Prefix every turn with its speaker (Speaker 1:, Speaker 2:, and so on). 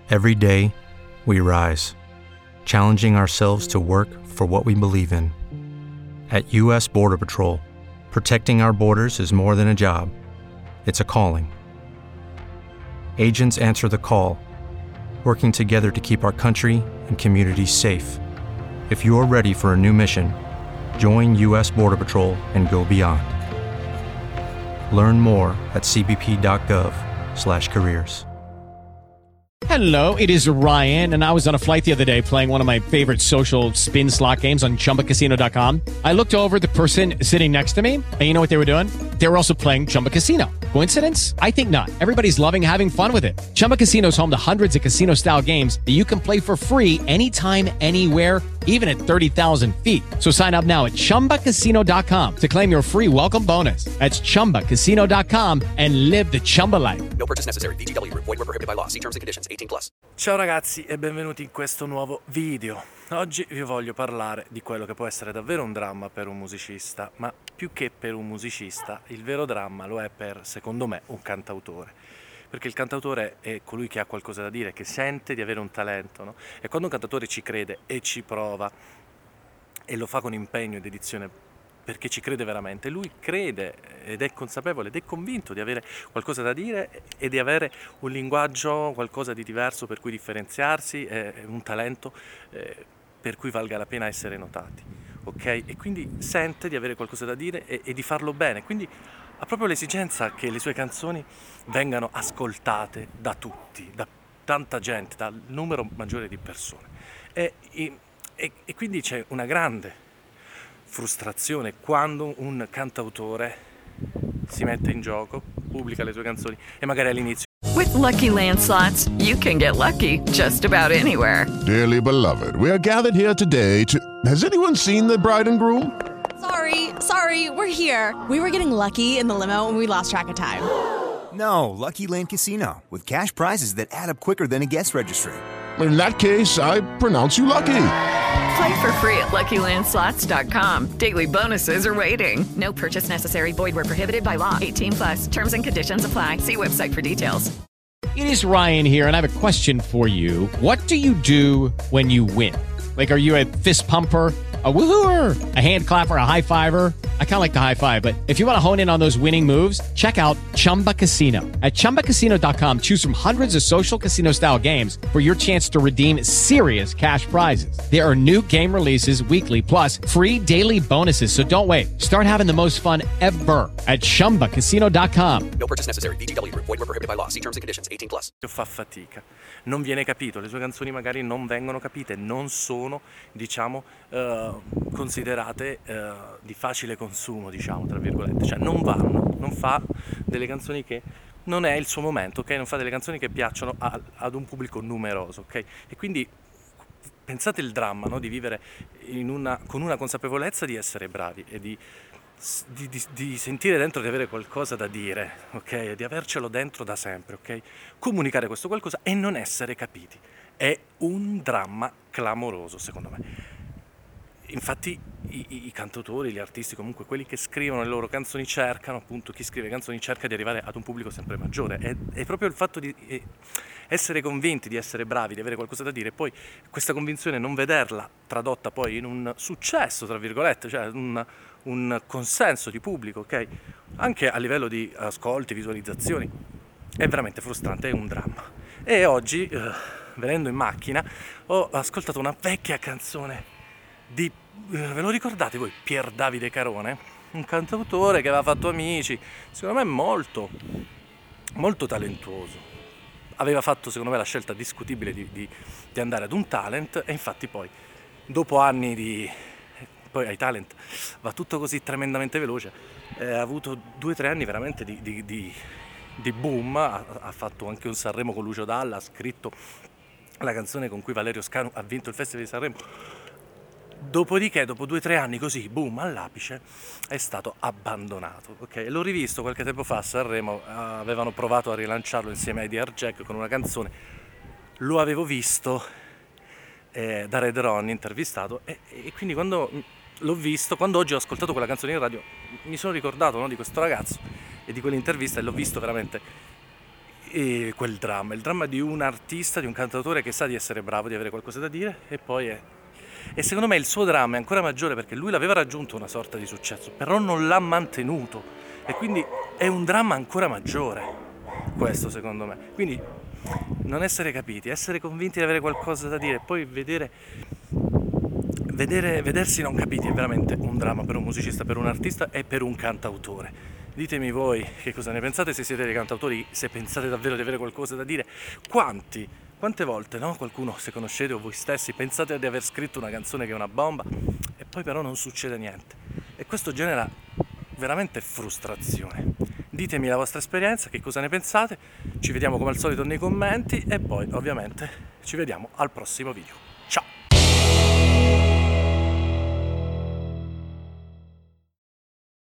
Speaker 1: Every day, we rise, challenging ourselves to work for what we believe in. At U.S. Border Patrol, protecting our borders is more than a job, it's a calling. Agents answer the call, working together to keep our country and communities safe. If you're ready for a new mission, join U.S. Border Patrol and go beyond. Learn more at cbp.gov/careers.
Speaker 2: Hello, it is Ryan, and I was on a flight the other day playing one of my favorite social spin slot games on ChumbaCasino.com. I looked over at the person sitting next to me, and you know what they were doing? They were also playing Chumba Casino. Coincidence? I think not. Everybody's loving having fun with it. Chumba Casino is home to hundreds of casino-style games that you can play for free anytime, anywhere, even at 30,000 feet. So sign up now at ChumbaCasino.com to claim your free welcome bonus. That's ChumbaCasino.com and live the Chumba life.
Speaker 3: No purchase necessary. VGW. Void where prohibited by law. See terms and conditions. 18+.
Speaker 4: Ciao ragazzi e benvenuti in questo nuovo video. Oggi vi voglio parlare di quello che può essere davvero un dramma per un musicista, ma più che per un musicista, il vero dramma lo è per, secondo me, un cantautore. Perché il cantautore è colui che ha qualcosa da dire, che sente di avere un talento, no? E quando un cantautore ci crede e ci prova, e lo fa con impegno e dedizione, perché ci crede veramente, lui crede ed è consapevole ed è convinto di avere qualcosa da dire e di avere un linguaggio, qualcosa di diverso per cui differenziarsi, un talento per cui valga la pena essere notati, ok? E quindi sente di avere qualcosa da dire e di farlo bene, quindi ha proprio l'esigenza che le sue canzoni vengano ascoltate da tutti, da tanta gente, dal numero maggiore di persone. E quindi c'è una grande frustrazione quando un cantautore si mette in gioco, pubblica le sue canzoni e magari all'inizio.
Speaker 5: With Lucky Land Slots, you can get lucky just about anywhere.
Speaker 6: Dearly beloved, we are gathered here today to... Has anyone seen the bride and groom?
Speaker 7: Sorry, we're here. We were getting lucky in the limo and we lost track of time.
Speaker 8: No, Lucky Land Casino, with cash prizes that add up quicker than a guest registry.
Speaker 6: In that case, I pronounce you lucky.
Speaker 5: Play for free at LuckyLandSlots.com. Daily bonuses are waiting. No purchase necessary. Void where prohibited by law. 18+. Terms and conditions apply. See website for details.
Speaker 2: It is Ryan here, and I have a question for you. What do you do when you win? Like, are you a fist pumper, a woohooer, a hand clapper, a high fiver? I kind of like the high five, but if you want to hone in on those winning moves, check out Chumba Casino. At ChumbaCasino.com, choose from hundreds of social casino-style games for your chance to redeem serious cash prizes. There are new game releases weekly, plus free daily bonuses, so don't wait. Start having the most fun ever at ChumbaCasino.com.
Speaker 3: No purchase necessary. VGW. Void where prohibited by law. See terms and conditions. 18+.
Speaker 4: Fa fatica, non viene capito, le sue canzoni magari non vengono capite, non sono, diciamo, considerate di facile consumo, diciamo, tra virgolette, cioè non fa delle canzoni che non è il suo momento, ok? Non fa delle canzoni che piacciono ad un pubblico numeroso, ok? E quindi pensate il dramma, no? Di vivere con una consapevolezza di essere bravi e di sentire dentro di avere qualcosa da dire, ok? Di avercelo dentro da sempre, ok? Comunicare questo qualcosa e non essere capiti. È un dramma clamoroso, secondo me. Infatti i cantautori, gli artisti, comunque quelli che scrivono le loro canzoni cercano, appunto, chi scrive canzoni cerca di arrivare ad un pubblico sempre maggiore. È proprio il fatto di essere convinti, di essere bravi, di avere qualcosa da dire, e poi questa convinzione non vederla tradotta poi in un successo, tra virgolette, cioè un consenso di pubblico, ok? Anche a livello di ascolti, visualizzazioni, è veramente frustrante, è un dramma. E oggi, venendo in macchina, ho ascoltato una vecchia canzone di, ve lo ricordate voi, Pier Davide Carone? Un cantautore che aveva fatto Amici, secondo me molto, molto talentuoso. Aveva fatto, secondo me, la scelta discutibile di andare ad un talent, e infatti poi, dopo anni poi ai talent va tutto così tremendamente veloce, ha avuto 2 o 3 anni veramente di boom, ha fatto anche un Sanremo con Lucio Dalla, ha scritto la canzone con cui Valerio Scanu ha vinto il Festival di Sanremo. Dopodiché, dopo 2 o 3 anni così, boom, all'apice, è stato abbandonato, ok? L'ho rivisto qualche tempo fa a Sanremo, avevano provato a rilanciarlo insieme ai DR Jack con una canzone, lo avevo visto da Red Ron intervistato, e quindi quando l'ho visto, quando oggi ho ascoltato quella canzone in radio, mi sono ricordato, no, di questo ragazzo e di quell'intervista, e l'ho visto veramente quel dramma, il dramma di un artista, di un cantautore che sa di essere bravo, di avere qualcosa da dire, e secondo me il suo dramma è ancora maggiore perché lui l'aveva raggiunto una sorta di successo, però non l'ha mantenuto, e quindi è un dramma ancora maggiore, questo secondo me. Quindi non essere capiti, essere convinti di avere qualcosa da dire, e poi vedersi non capiti è veramente un dramma per un musicista, per un artista e per un cantautore. Ditemi voi che cosa ne pensate, se siete dei cantautori, se pensate davvero di avere qualcosa da dire. Quante volte, no? Qualcuno, se conoscete o voi stessi, pensate di aver scritto una canzone che è una bomba e poi però non succede niente. E questo genera veramente frustrazione. Ditemi la vostra esperienza, che cosa ne pensate, ci vediamo come al solito nei commenti e poi ovviamente ci vediamo al prossimo video.